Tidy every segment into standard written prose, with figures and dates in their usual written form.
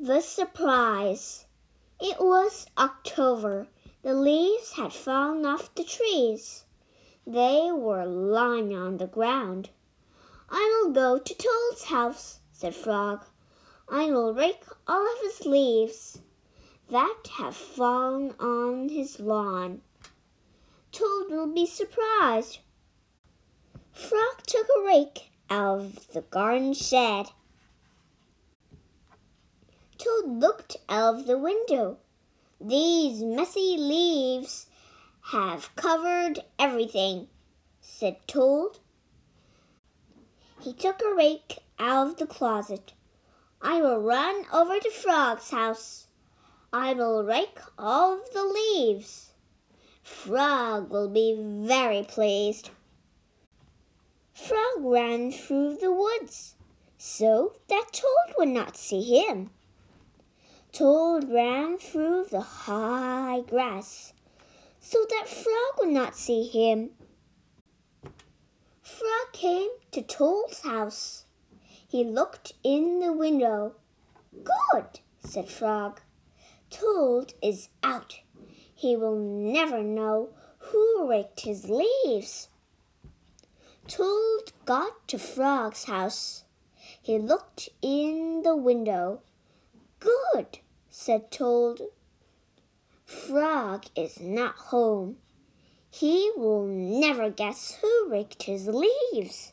The surprise! It was October. The leaves had fallen off the trees. They were lying on the ground. "I will go to Toad's house," said Frog. "I will rake all of his leaves that have fallen on his lawn. Toad will be surprised." Frog took a rake out of the garden shed. Toad looked out of the window. "These messy leaves have covered everything," said Toad. He took a rake out of the closet. "I will run over to Frog's house. I will rake all of the leaves. Frog will be very pleased." Frog ran through the woods so that Toad would not see him. Toad ran through the high grass so that Frog would not see him. Frog came to Toad's house. He looked in the window. "Good," said Frog. "Toad is out. He will never know who raked his leaves." Toad got to Frog's house. He looked in the window. "Good," said Toad. "Frog is not home. He will never guess who raked his leaves."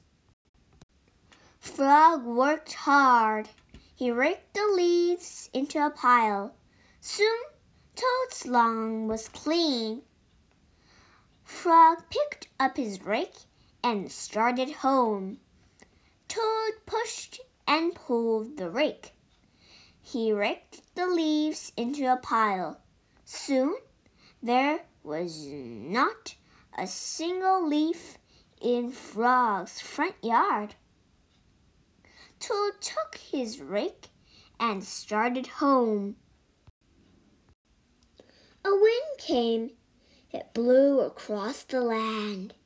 Frog worked hard. He raked the leaves into a pile. Soon Toad's lawn was clean. Frog picked up his rake and started home. Toad pushed and pulled the rake. He raked the leaves into a pile. Soon there was not a single leaf in Frog's front yard. Toad took his rake and started home. A wind came. It blew across the land.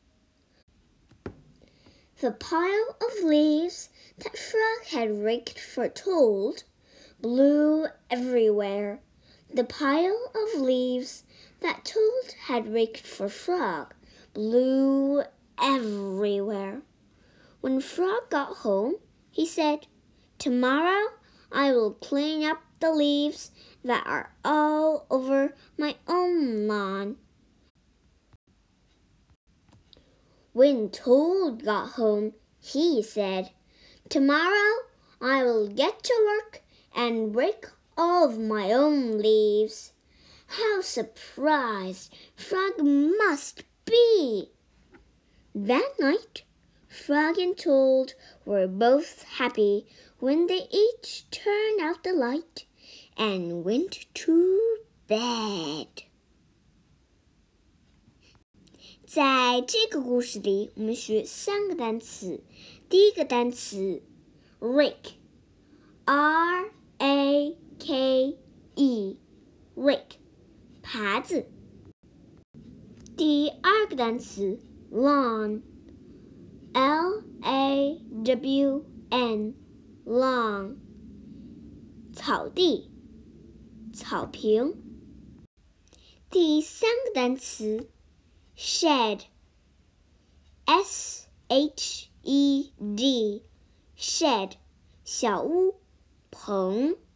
The pile of leaves that Frog had raked for Toad blew everywhere. The pile of leaves that Toad had raked for Frog blew everywhere. When Frog got home, he said, "Tomorrow I will clean up the leaves that are all over my own lawn." When Toad got home, he said, "Tomorrow I will get to work and rake all of my own leaves." How surprised Frog must be! That night, Frog and Toad were both happy when they each turned out the light and went to bed. 在这个故事里，我们学3个单词。第一个单词 rake，R-A-K-E， rake， 耙子。第二个单词 lawn，L-A-W-N， lawn， 草地、草坪。第三个单词shed， S-H-E-D， shed， 小屋、棚。